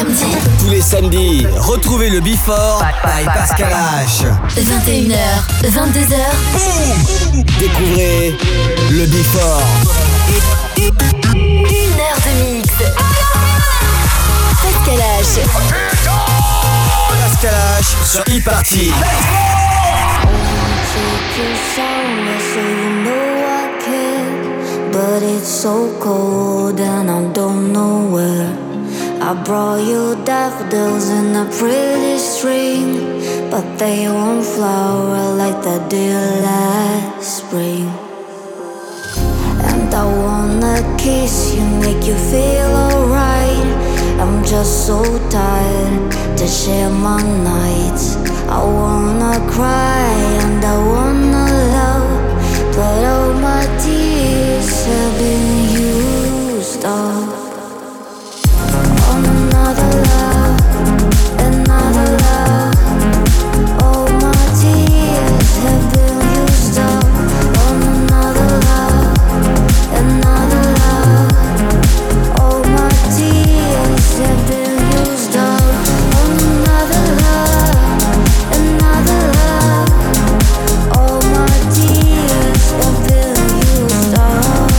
samedis. Tous les samedis, retrouvez le Before by Pascal H. 21h, 22h. Boum! Découvrez le Before. 1 heure de mix. Pascal H. Pascal H sur e-party. But it's so cold and I don't know where. I brought you daffodils in a pretty string, but they won't flower like they did last spring. And I wanna kiss you, make you feel alright. I'm just so tired to share my nights. I wanna cry and I wanna love, but all my tears have been used up on another love, another love. All my tears have been used up on another love, another love. All my tears have been used up on another love, another love. All my tears have been used up.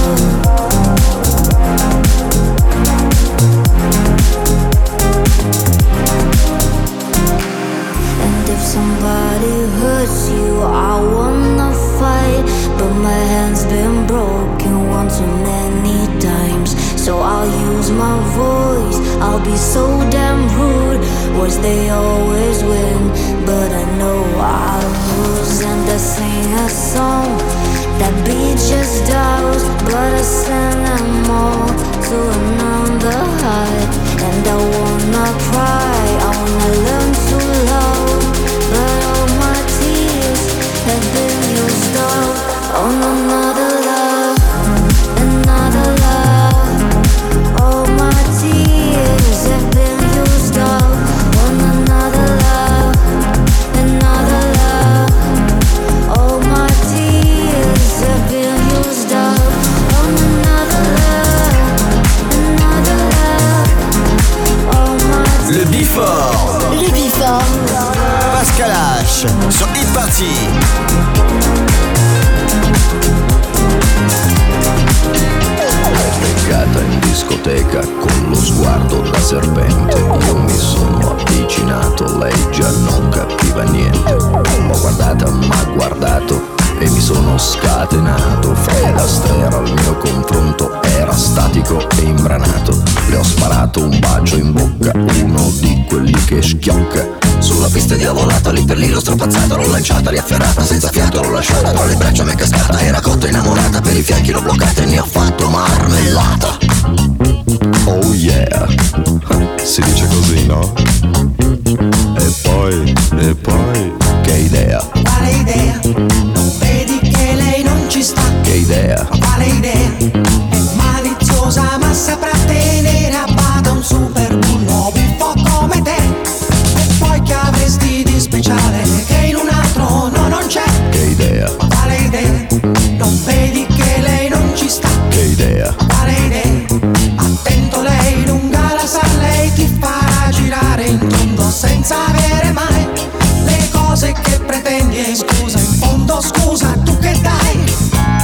And if somebody hurts you, I wanna fight, but my hand's been broken one too many times. So I'll use my voice, I'll be so damn rude. Words they always win, but I know I'll lose. And I sing a song that beat just dies, but I send them all to another heart. And I wanna cry, I wanna learn to love, but all my tears have been used up on another love, another love. All my tears have been used up on another love, another love. All my tears have been used up on another love, another love. All my Le Before. Le Before. Pascal H sur e-party. Beccata in discoteca con lo sguardo da serpente. Io mi sono avvicinato, lei già non capiva niente. L'ho guardata, m'ha guardato e mi sono scatenato. Fred Astaire al mio confronto era statico e imbranato. Le ho sparato un bacio in bocca, uno di quelli che schiocca. Sulla pista diavolata, lì per lì l'ho strapazzata, l'ho lanciata, riafferrata, senza fiato l'ho lasciata. Tra le braccia m'è cascata, era cotta innamorata, per i fianchi l'ho bloccata e ne ho fatto marmellata. Oh yeah, si dice così, no? E poi, che idea, Quale idea? Non vedi che lei non ci sta? che idea, Quale idea? È maliziosa ma saprà tenere a bada un super bullo buffo come te. E poi che avresti di speciale che in un altro no, non c'è? che idea, Quale idea? Non vedi che lei non ci sta? che idea, Quale idea? Attento, lei lunga la sa, lei ti farà girare in tondo senza avere mai le cose che pretendi. E scusa, in fondo scusa, tu che dai?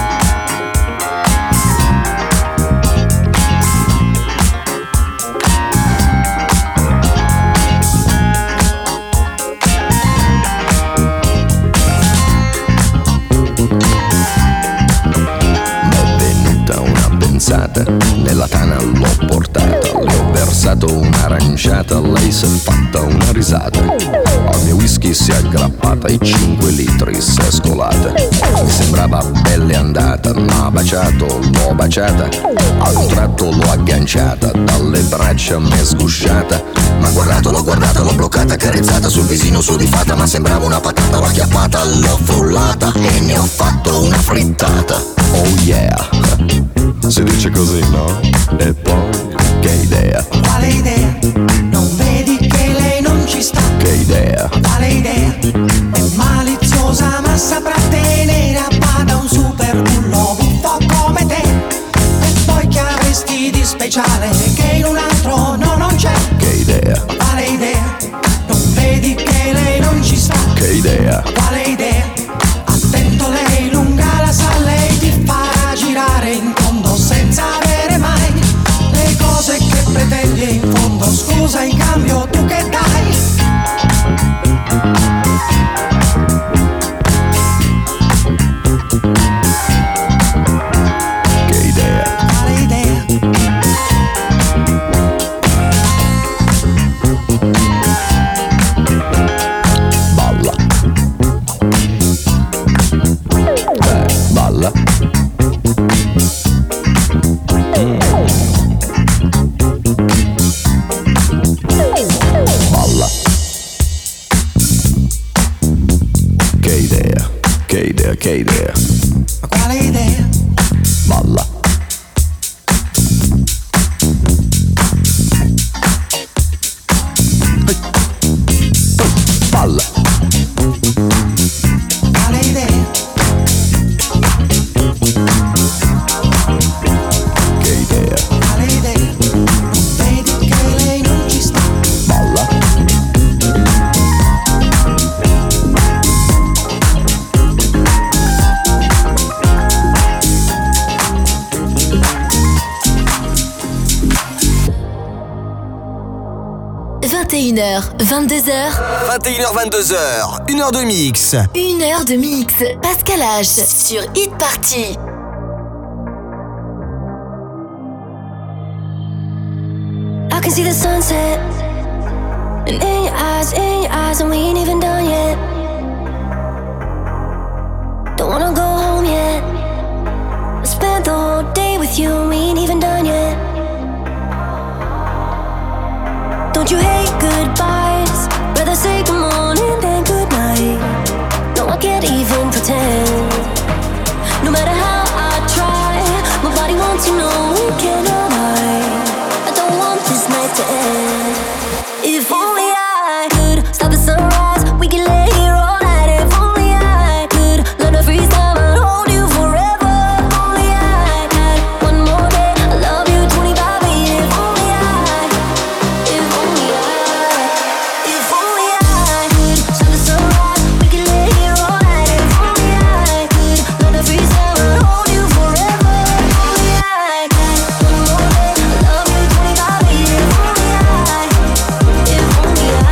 m'è venuta una pensata, nella tana l'ho portata, le ho versato un'aranciata, lei s'è fatta una risata. Al mio whisky si è aggrappata e 5 litri si è scolata. Mi sembrava belle andata, m'ha baciato, l'ho baciata, a un tratto l'ho agganciata, dalle braccia m'è sgusciata. M'ha guardato, l'ho guardata, l'ho bloccata, carezzata sul visino sudifata, ma sembrava una patata, l'ho acchiappata, l'ho frullata e ne ho fatto una frittata. Oh yeah, si dice così, no? E poi, che idea, Quale idea? Non vedi che lei non ci sta? che idea, Quale idea? È maliziosa ma saprà tenere a bada un super bullo buffo come te. E poi che avresti di speciale che in un altro no, non c'è? che idea, idea? Quale idea? Attento, lei lunga la sa, lei ti farà girare in tondo senza avere mai le cose che pretendi e in fondo scusa in cambio tu che dai? Che idea? Quale idea? Balla. Balla. Balla. Che idea, che idea, che idea. Ma quale idea? Balla. Balla. Quale idea? Che idea. Quale idea? Non vedi che lei non ci sta? Balla. h 22h. 21h, 22h. 1h de mix. 1h de mix. Pascal H. Sur Hit Party. I can see the sunset, and in your eyes, and we ain't even done yet. Don't wanna go home yet. I spent the whole day with you, and we ain't even done yet. Don't you hate goodbyes? Rather say good morning than good night. No, I can't even pretend. No matter how I try, my body wants to know we cannot hide. I don't want this night to end. If only I could stop the sunrise, we could lay here all night. If only I could learn to freeze time and hold you forever. If only I had one more day, I love you 25 years. If only I could stop the sunrise, we could lay here all night. If only I could learn to freeze time and hold you forever. If only I had one more day, I love you 25 years. If only I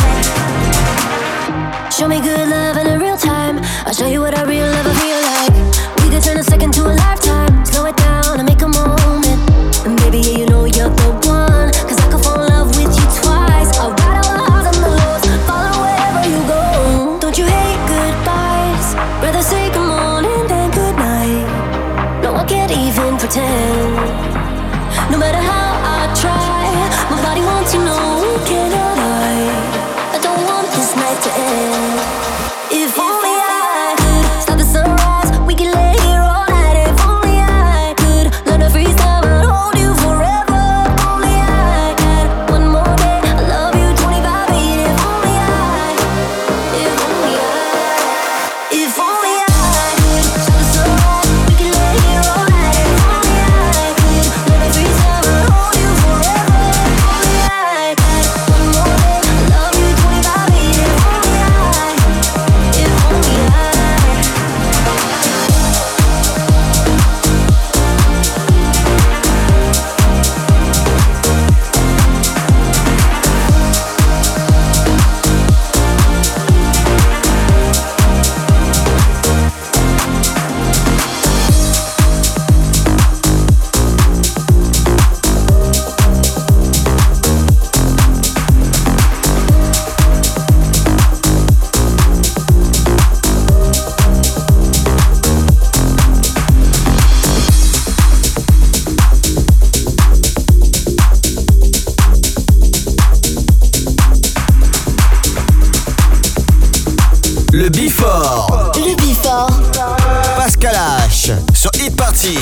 show me good love in a real time. I'll show you what a real lover feel like. We could turn a second to a lifetime. Slow it down and make a moment. And baby, yeah, you know you're the one. Cause I could fall in love with you twice. I'll ride all the highs and the lows, follow wherever you go. Don't you hate goodbyes? Rather say good morning than good night. No, I can't even pretend. No matter how I try, my body wants to know we cannot hide. I don't want this night to end. If only I could stop the sunrise, we could lay here all night. If only I could learn to freeze time and hold you forever. If only I had one more day, I love you 25 years. If only I could stop the sunrise, we could lay here all night. If only I could learn to freeze time and hold you forever. If only I had one more day, I love you 25 years. If only I Le Before. Le Before. Pascal H. Sur Hit Party.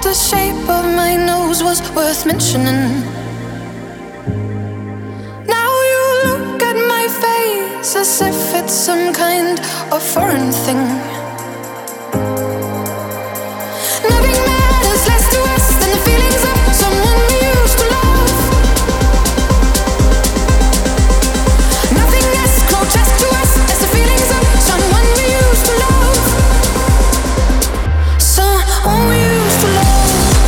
the shape of my nose was worth mentioning. Now you look at my face as if it's some kind of foreign thing. Nothing matters less to us than the feelings of someone we used to love. Nothing as grotesque to us as the feelings of someone we used to love. Someone we used to love.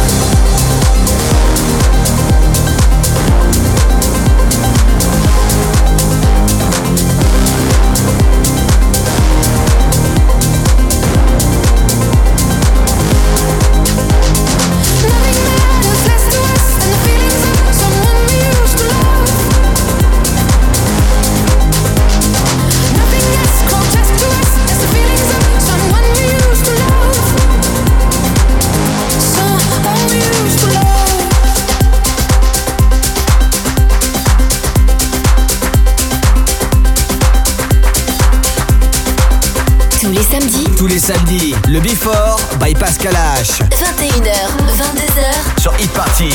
Tous les samedis, le Before by Pascal H. 21h, 22h sur Hit Party.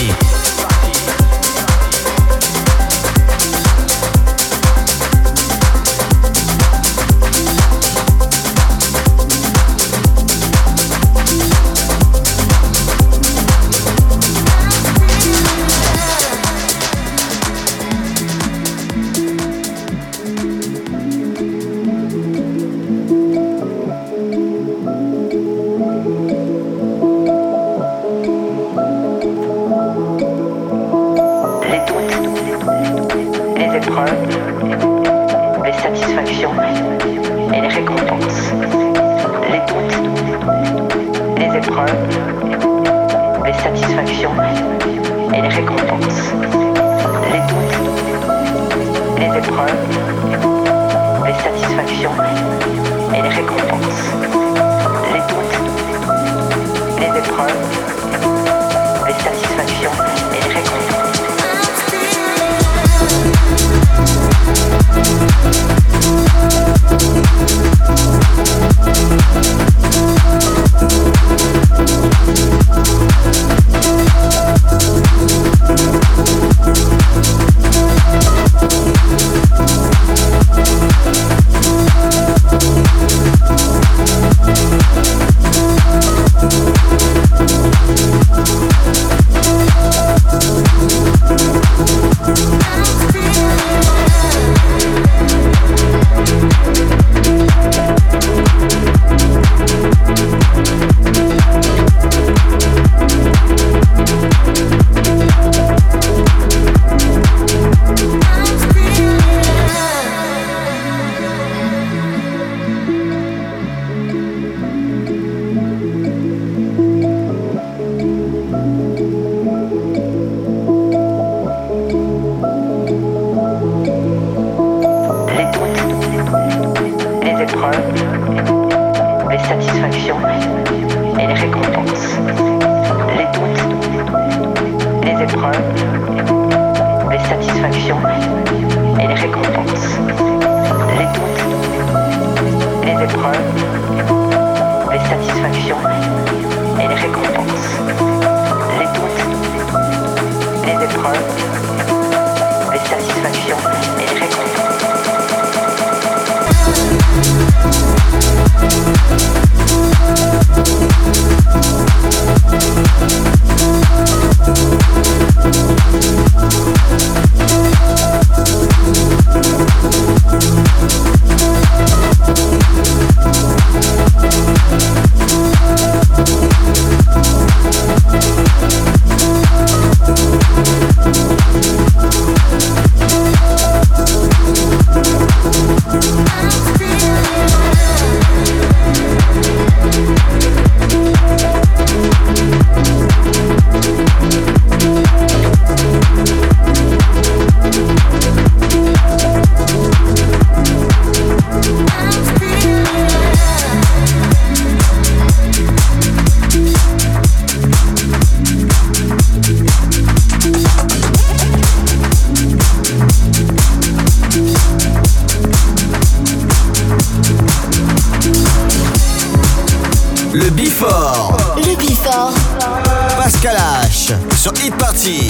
Le Before. Le Before Pascal H sur Hit Party.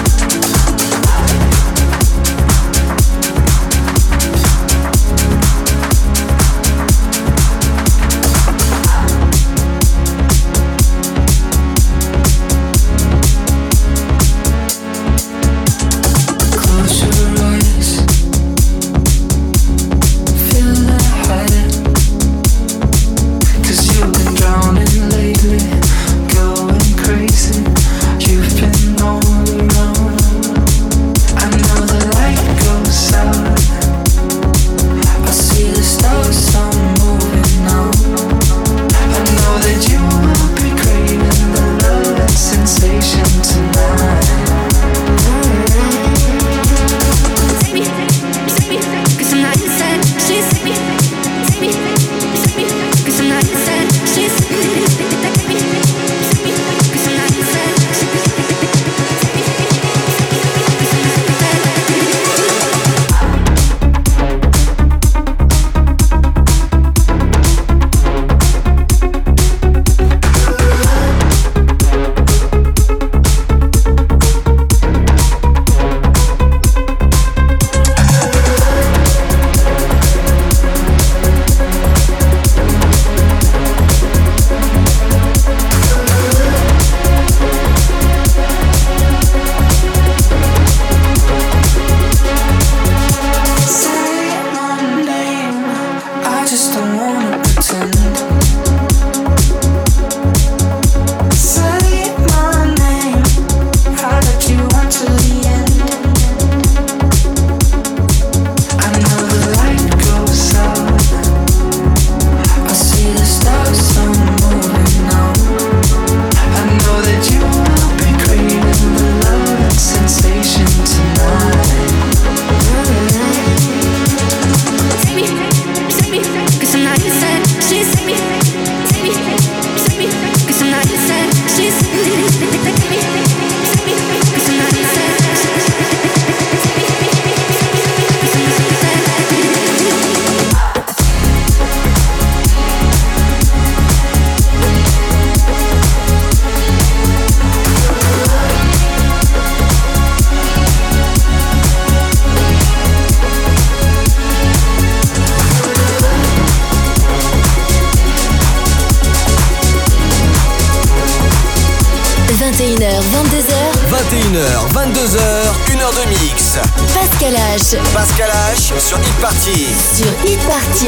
You've been all alone. une heure de mix. Pascal H. Pascal H sur Hit Party. Sur Hit Party.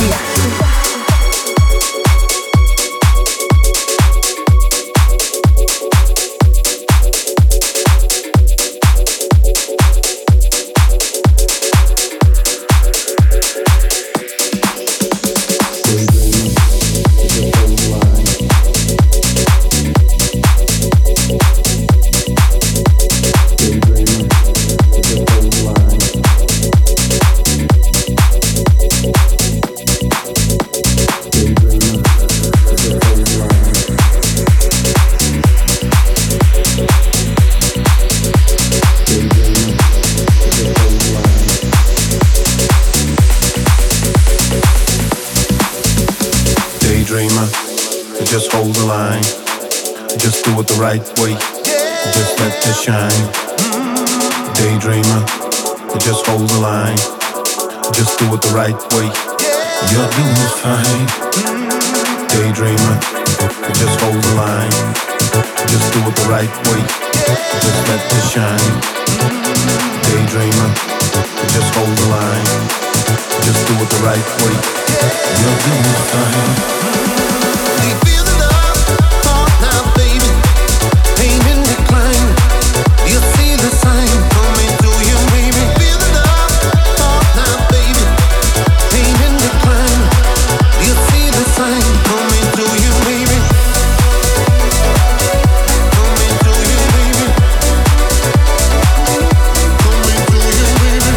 'Just hold the line, just do it the right way, just let it shine. Daydreamer, just hold the line, just do it the right way, you're doing fine. Daydreamer, just hold the line, just do it the right way, just let it shine. Daydreamer, just hold the line, just do it the right way, you're doing fine. You see the sign coming through you, baby. Feel the love, talk now, baby. Pain in decline. You see the sign coming through you, baby. Coming through you, baby. Coming through you, baby.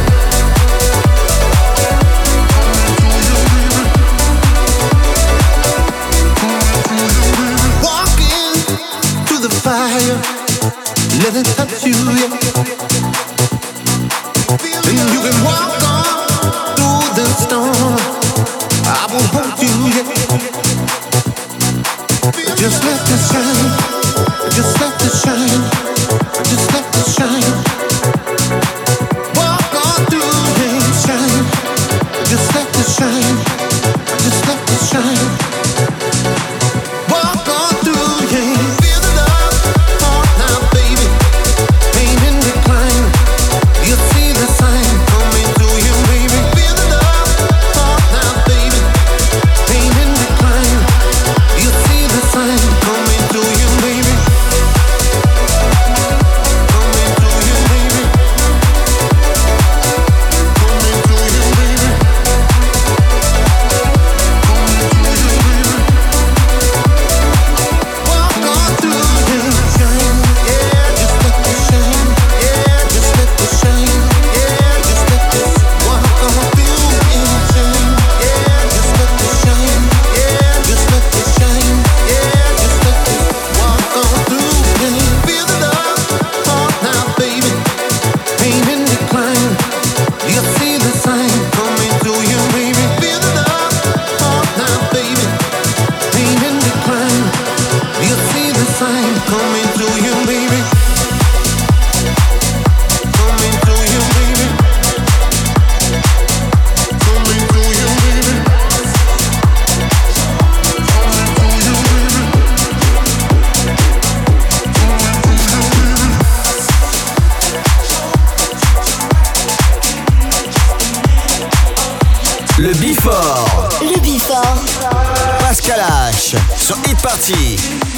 Walking through the fire. Let it touch you, yeah. And you can walk on through the storm. I will hold you, yeah. Just let it shine. Just let it shine. Just let it shine. Walk on through and shine. Just let it shine. Just let it shine. Walk on through, yeah. Feel the love, heart now, baby. Pain in decline. You see the sign coming through you, baby. Feel the love, heart now, baby. Pain in decline. You see the sign coming through you, baby. Coming through you, baby. Coming through you, baby. Coming through you, baby. Walk on through and shine, yeah. Just let it shine, yeah. Just let it shine, yeah. Just let it walk on through and shine, yeah. Just let it shine, yeah. Just let it shine, yeah. Just let it walk on through and feel the love, heart now, baby. Pain in decline, you see the sign coming through you, baby. Feel the love, heart now, baby. Pain in decline, you see the sign coming through you, baby. Coming through you, baby. Coming through you, baby. Coming through you, baby. Le Before, Le Before. Pascal H sur Hit Party.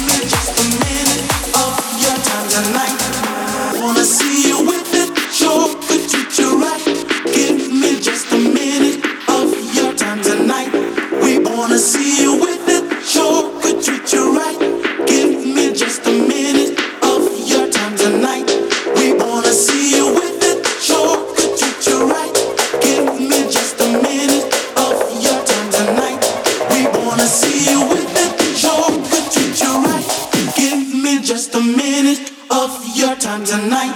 Wanna see you with it, sure could treat you right. Give me just a minute of your time tonight. We wanna see you with it, sure could treat you right. Give me just a minute of your time tonight. We wanna see you with it, sure could treat you right. Give me just a minute of your time tonight. We wanna see you with it, sure could treat you right. Give me just a minute of your time tonight.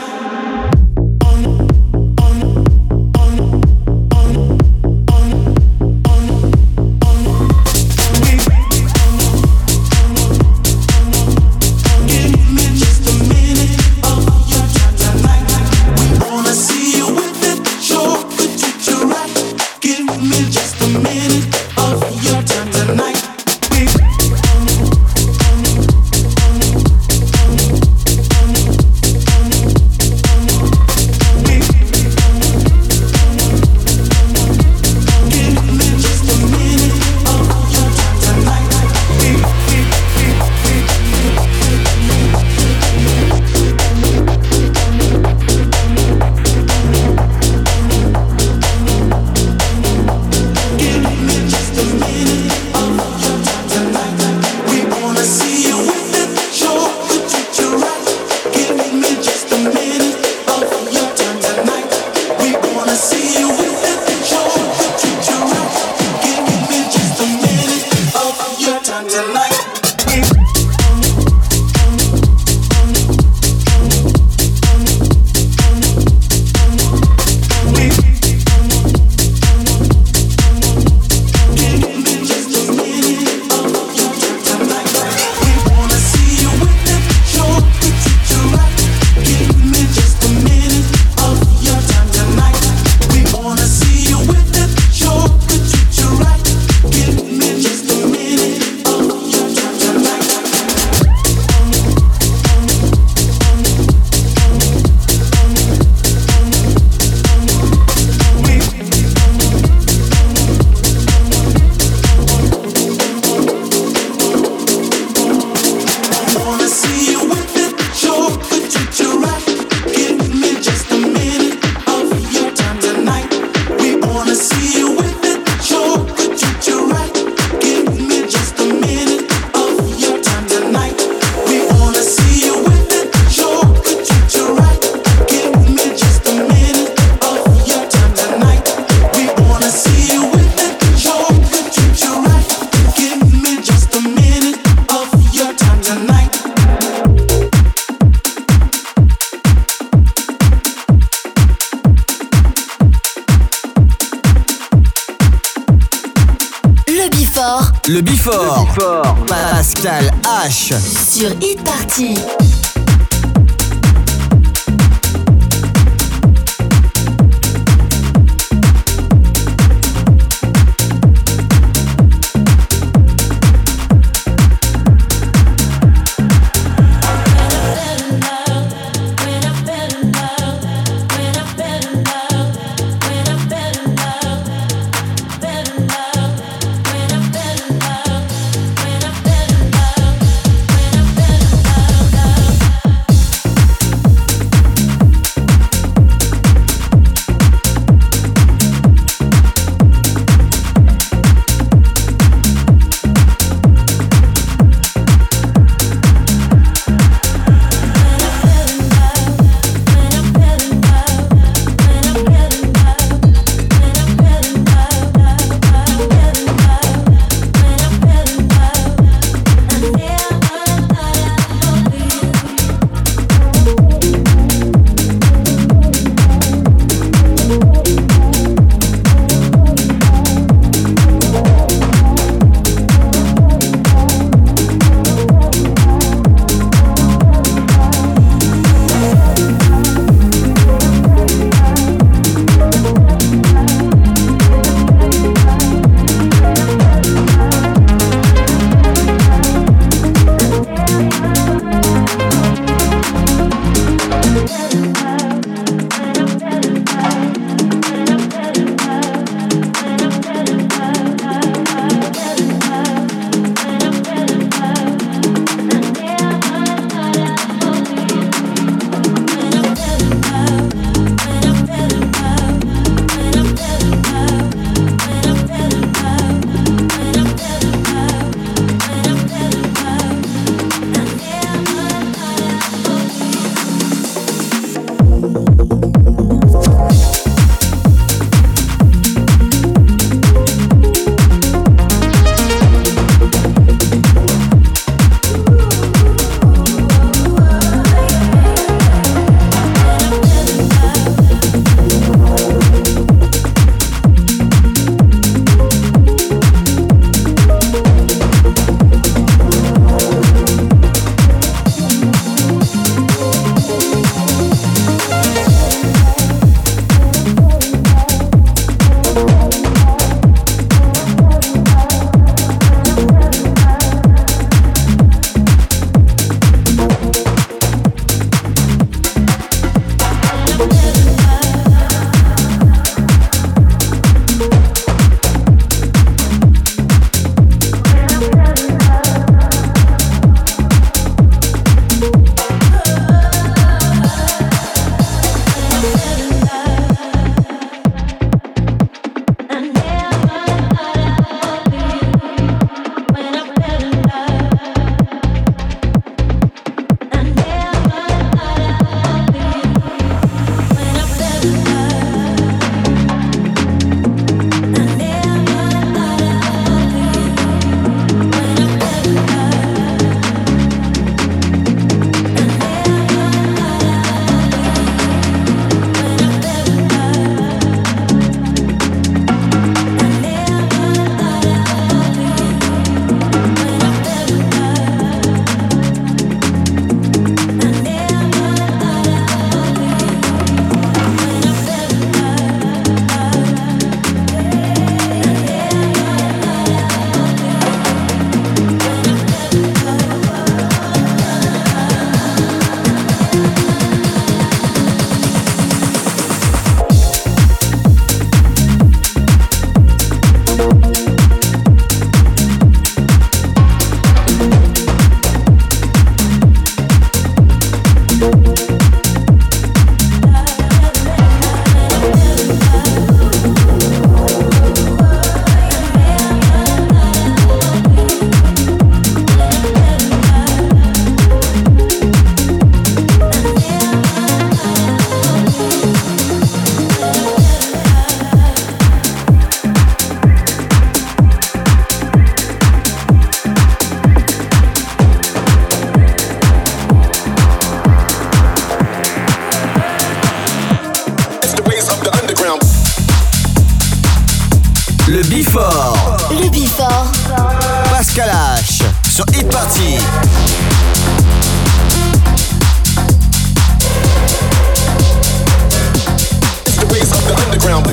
Le Before. Pascal H. Sur Hit Party. Le Before. Le Before. sur Hit Party. It's the ways of the underground.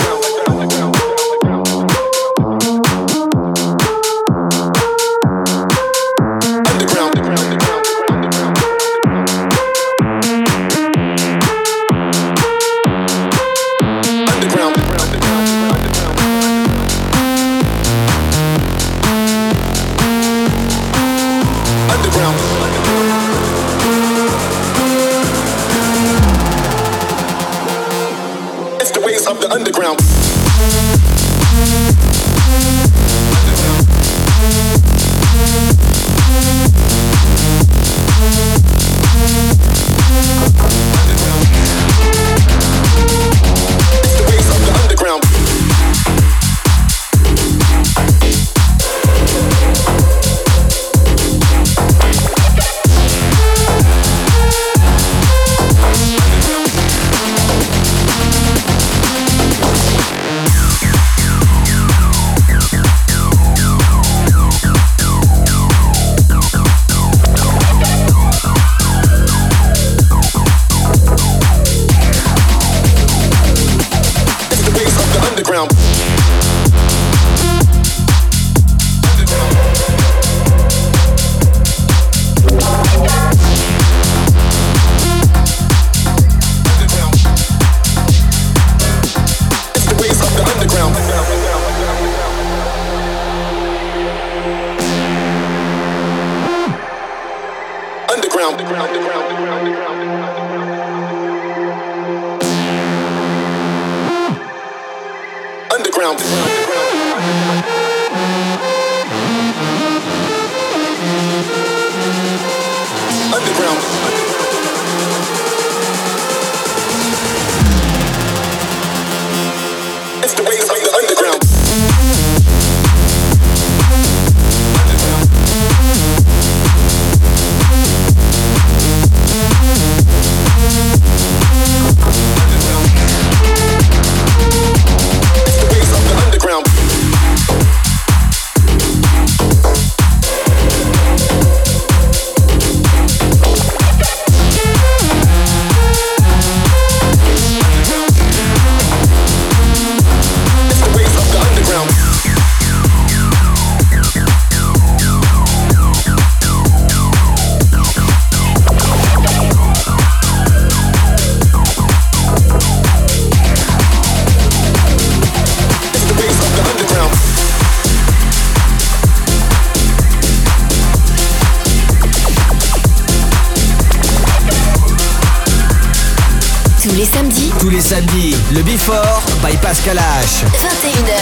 Tous les samedis, le Before by Pascal H. 21h,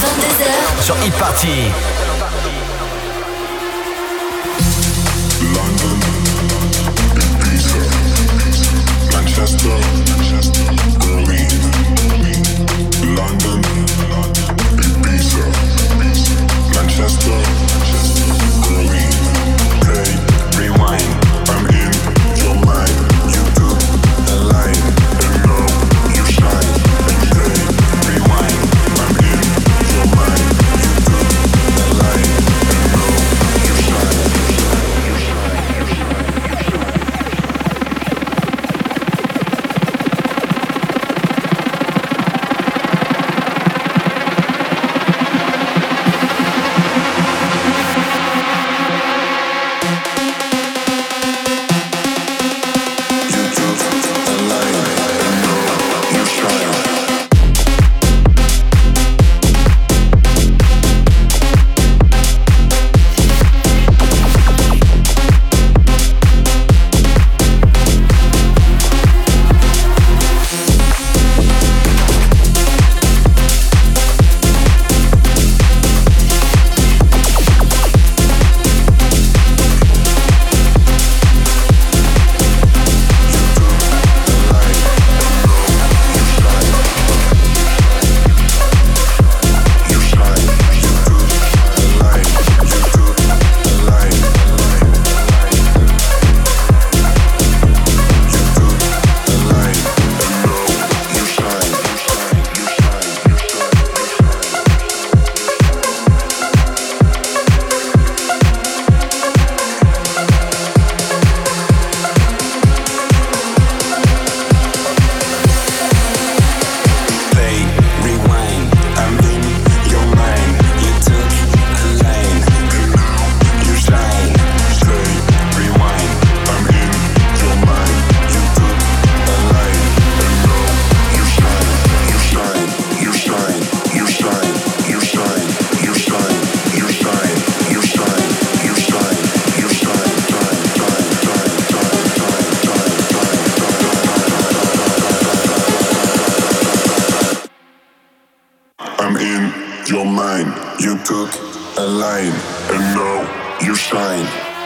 22h sur Hit Party. London, Ibiza, Manchester, Berlin. London, Ibiza, Manchester, Berlin. Play, rewind, I'm in your mind. You do the line, and now you shine. And play, rewind, I'm in your mind. You do the line. your mind. You took a line, and now you shine.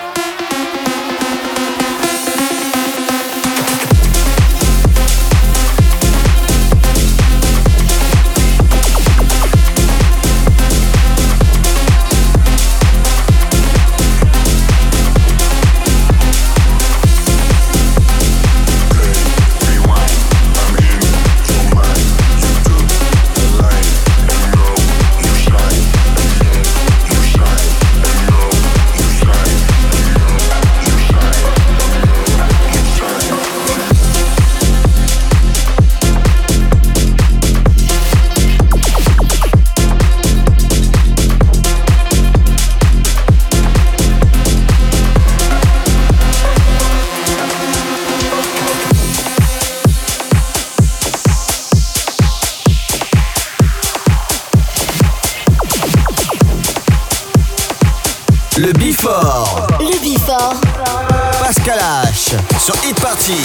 Le Before. Le Before. Pascal H. Sur Hit Party.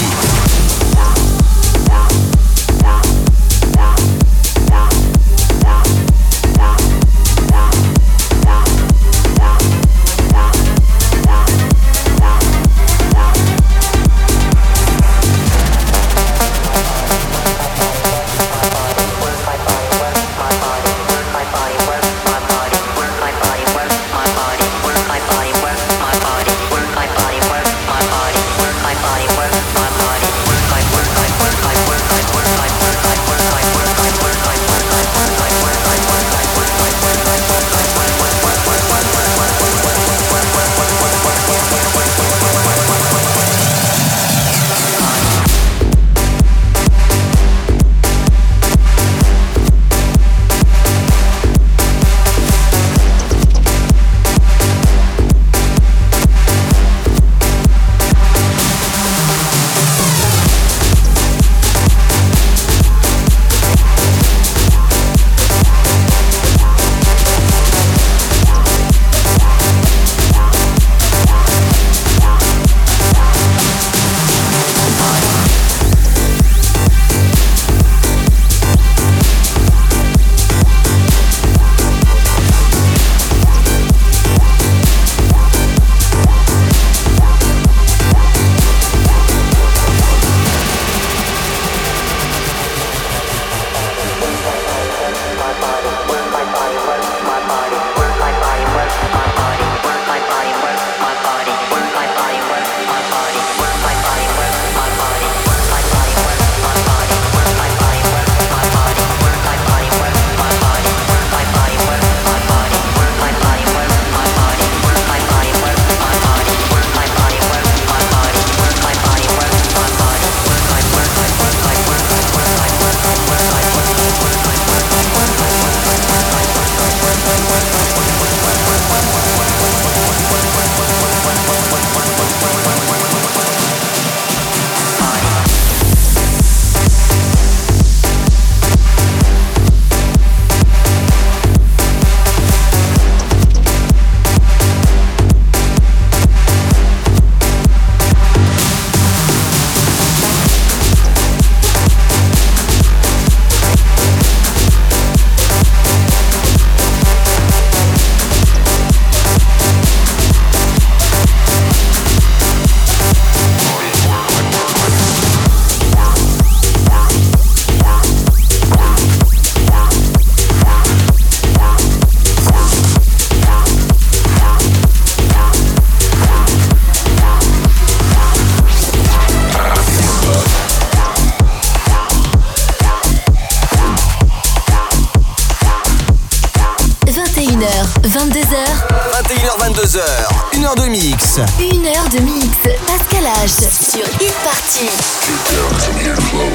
Une heure de mix. Une heure de mix. Pascal H. Sur Hit Party. Get down, 'cause I'm here to flow.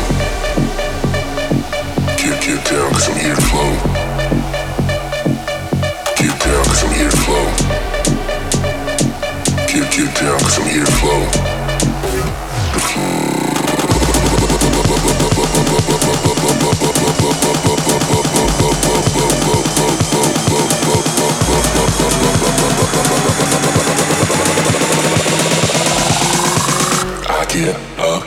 Get down, 'cause I'm here to flow. Get down, 'cause I'm here to flow. Get down, 'cause I'm here to flow. Get up.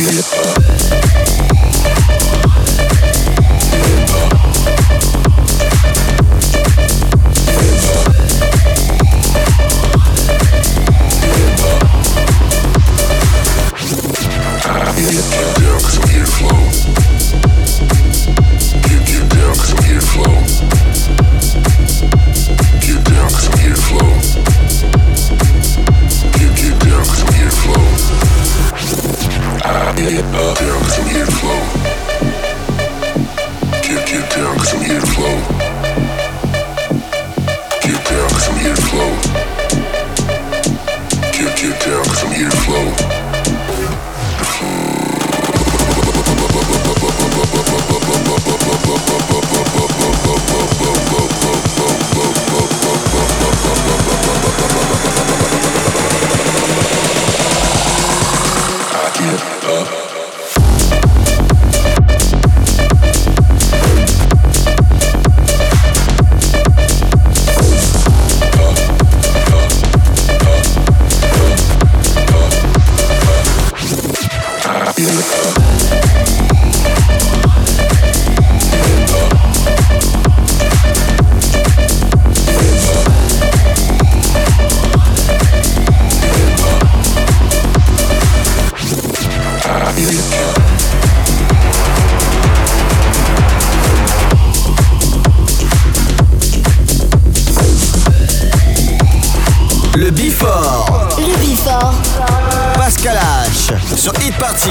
Pascal H sur Hit Party.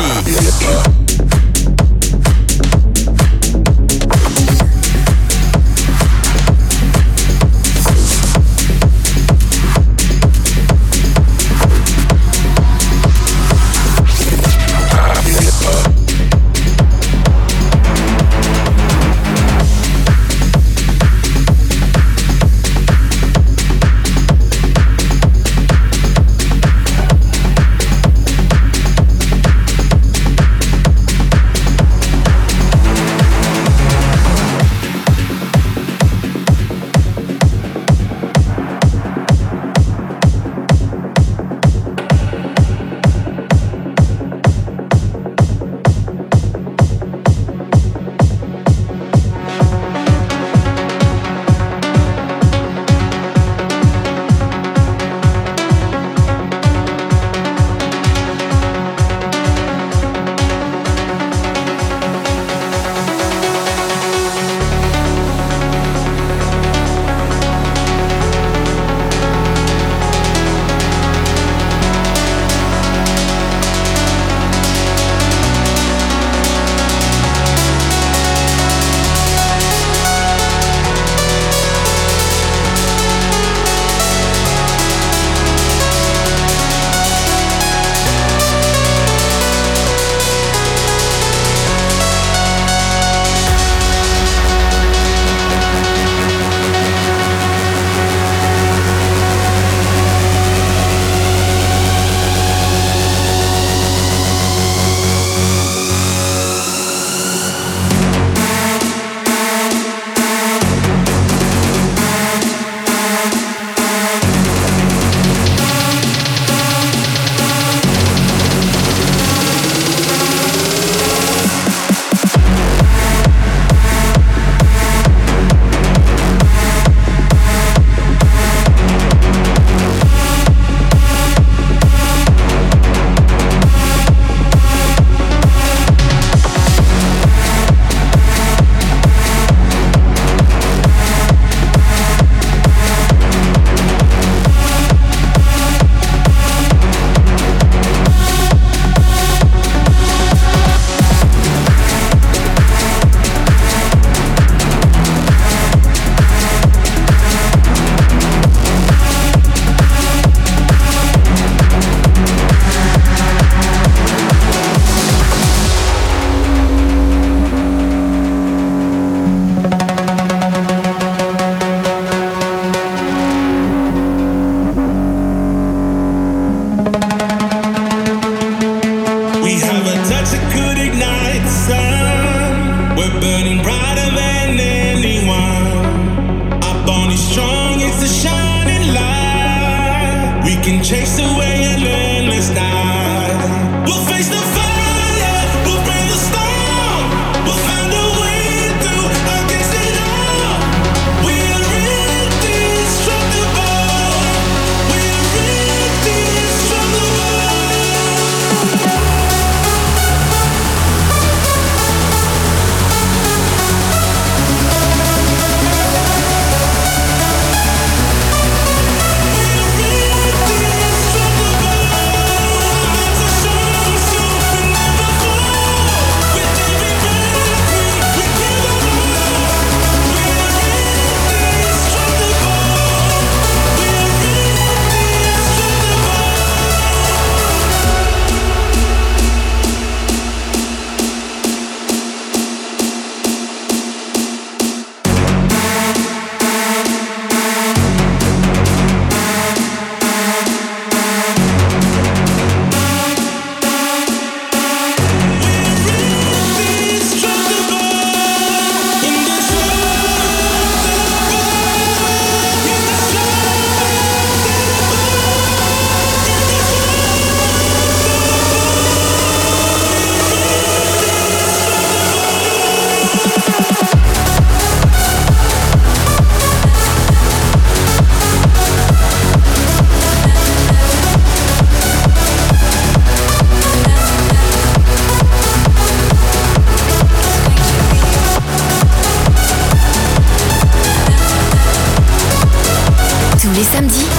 Chase away an endless night. We'll face the fire.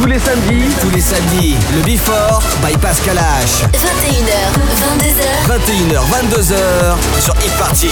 Tous les samedis, le Before by Pascal H. 21h, 22h sur Hit Party.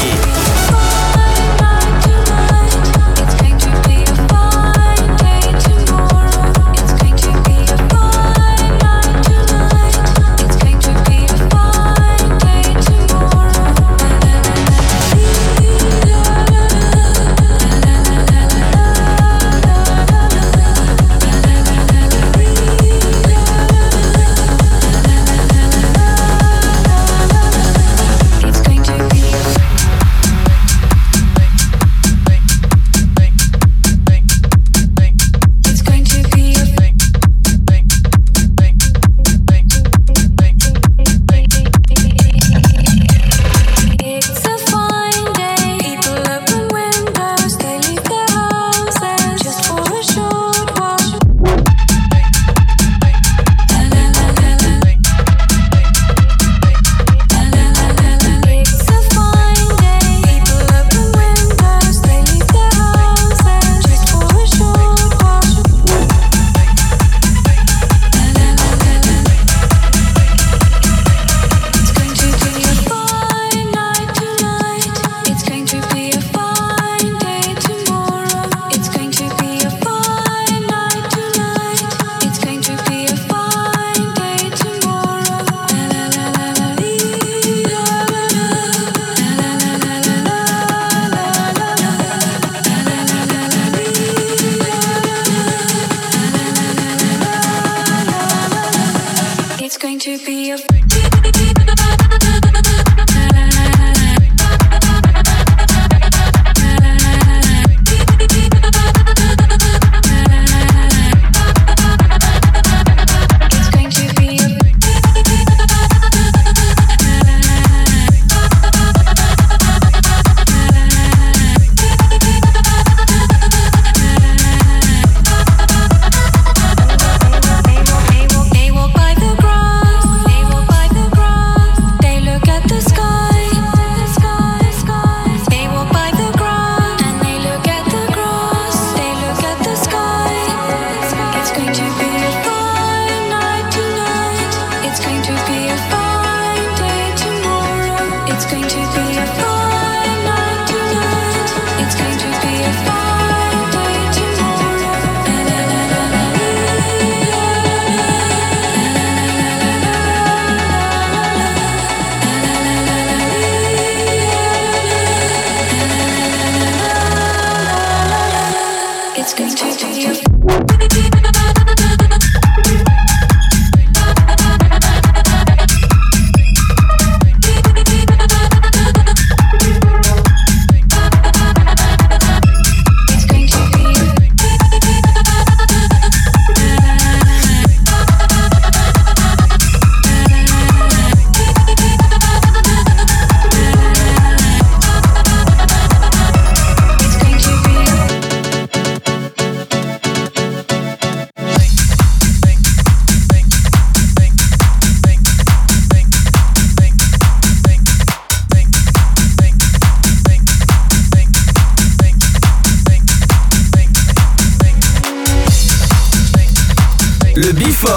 Le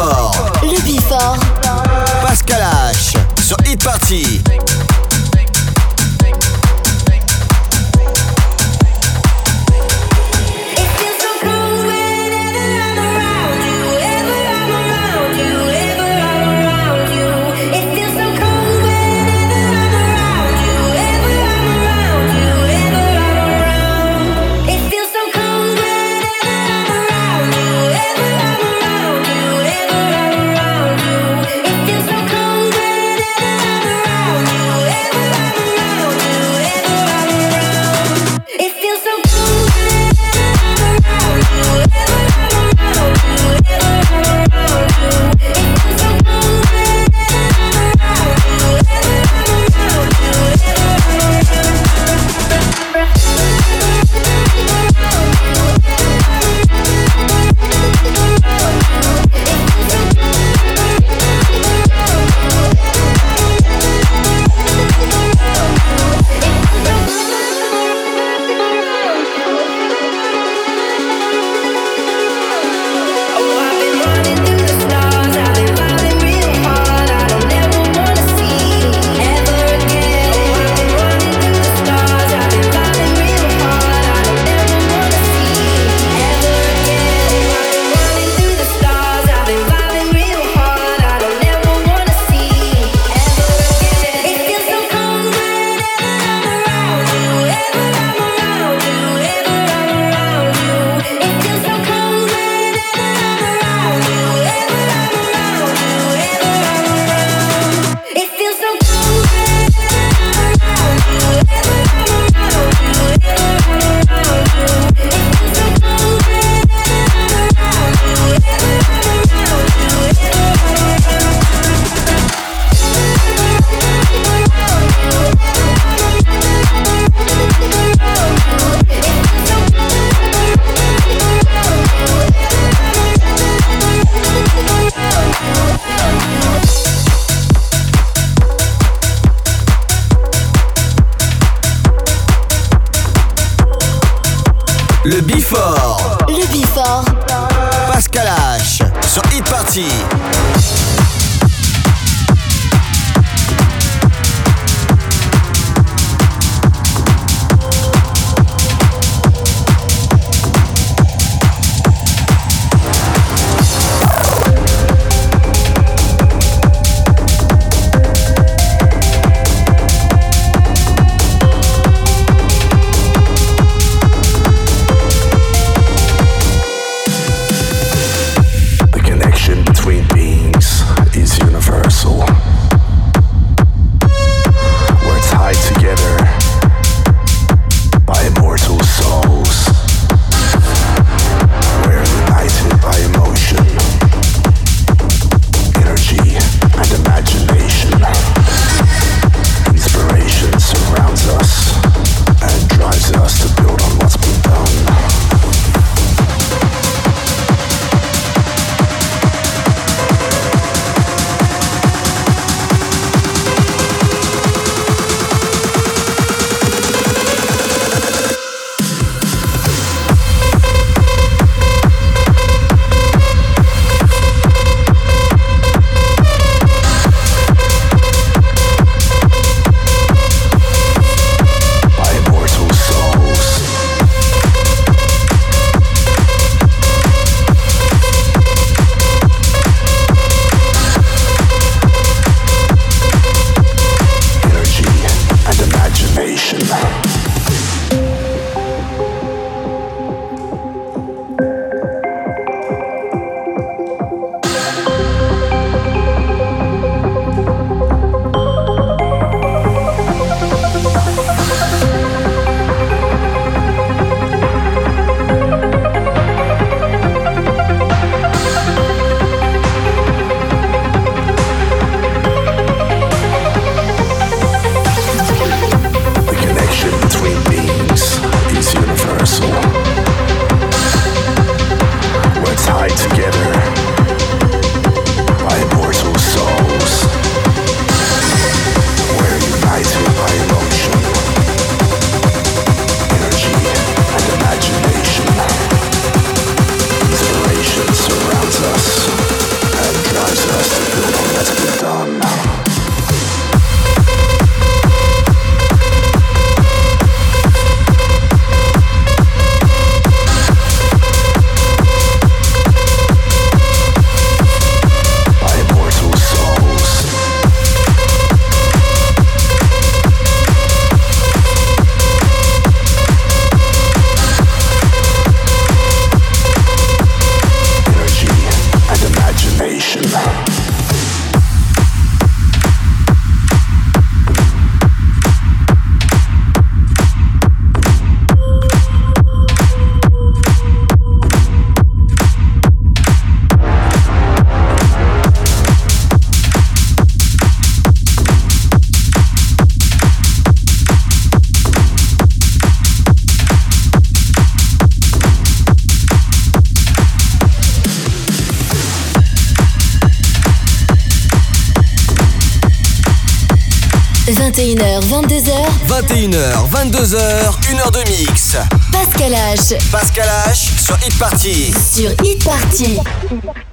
Before. Pascal H sur Hit Party. Around Before. Le Before. Pascal H sur Hit Party. – 21h, 22h. 21h, 22h, 1h de mix. Pascal H. Pascal H sur Hit Party. Sur Hit Party.